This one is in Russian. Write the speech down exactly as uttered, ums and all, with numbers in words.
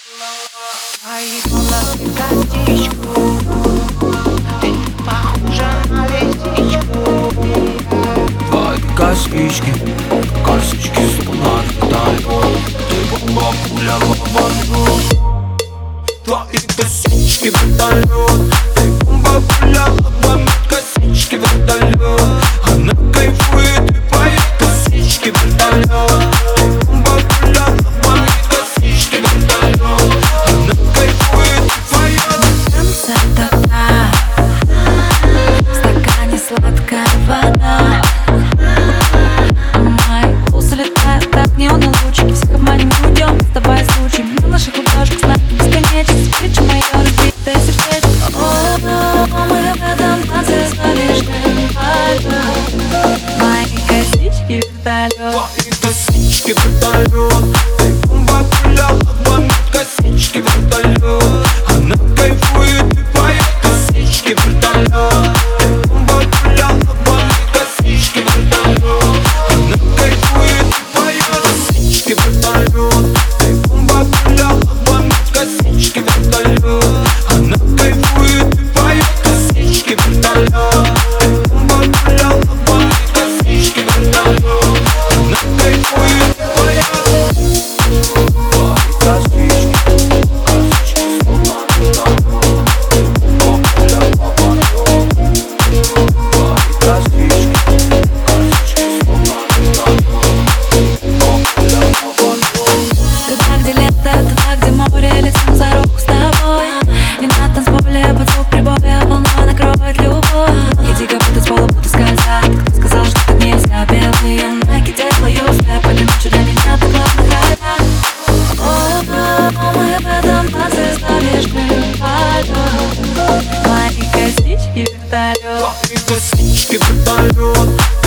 Твои волосы косичку, ты похожа на лисичку. Твои косички, косички словно вертолет. Ты бомба, пуля, лобовет. Твои косички вертолет. Ты бомба, пуля, лобовет. Косички вертолет. Она кайфует и поет. Косички вертолет. Ты бомба, пуля, лобовет. Косички вертолет. Она кайфует и поет. Танцы такая, в стакане сладкая вода. Мои усы летают, как неоны лучики. Всех обманем, уйдем, сдавая случай. На наших ладошках знак бесконечности. Встреча моя разбитое сердечко. О, мы в этом танце с лишним пальцем. Мои косички вертолет. Твои косички вертолет. Ты бомба, пуля, лобовет. Косички вертолет. Она кайфует и поет. Косички вертолет. Ты бомба, пуля, лобовет. Косички вертолет. Она кайфует и поет. Косички вертолет. Ты бомба, пуля, лобовет. Косички вертолет. Она кайфует и поет. Косички вертолет. Ты бомба, пуля, лобовет. Косички вертолет. Она кайфует и поет. Туда, где лето, туда, где море, летим за руку с тобой. И на танцполе под звук прибоя волна накроет любовь. Иди, как будто с пола будто скользят. Кто сказал, что так нельзя? Белые найки делаю степ. Этой ночью для меня ты главный хайп. О, мы в этом танце с лишним пальцем. Мои косички вертолет. Твои косички вертолет.